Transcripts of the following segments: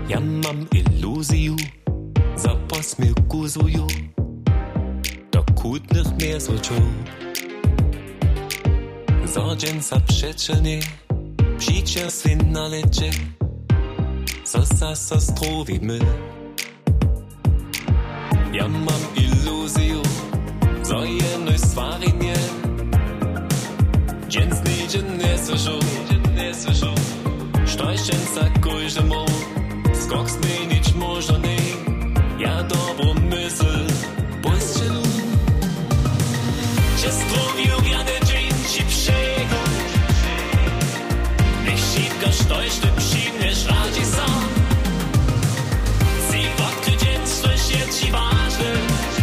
Ja mam iluziju, zaposmiekuzuju, do kutnych mnie złocił. Zordzienca przeczenie, przyciąsty na lecie, so strowimy. Ja mam iluziju, so jednej stvari nie, dzień znidzie nie słyszą, Štojšenca kojžemo, skok zmenić možno ne, ja dobro mysl pošćelu. Če strovijo gerne džin, či pšego, nech šipka štojšte pšimneš rađi sam. Si vodky džin, štojš je či važne,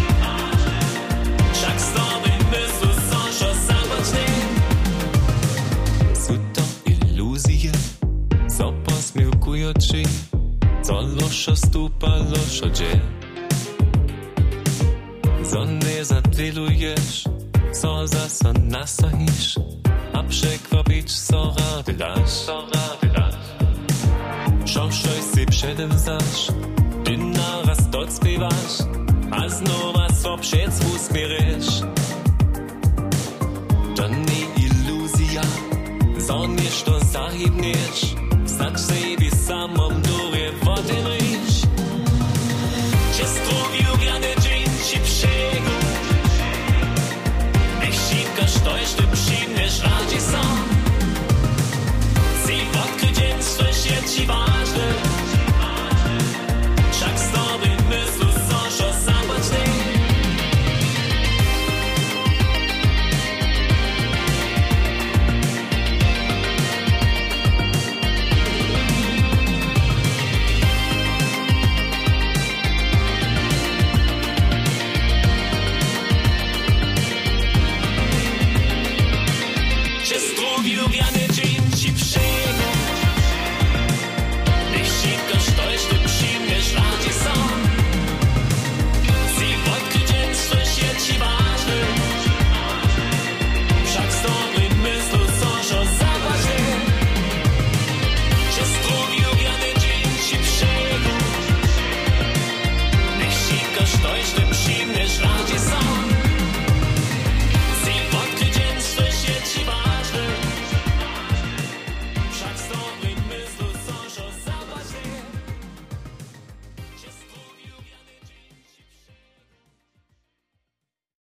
však s dobrim mysl sošo sam počne. Su to iluzije, so posmievkujoči, co lošo stupa, lošo dže. So ne zadviluješ, so zase nasahiš, a překvapič so rady daš. Šošoj si předevzaš, ty naraz docpívaš, a znova so před usmíriš. To nie iluzja, so nešto zahybneš, Znač sebi samom dure vody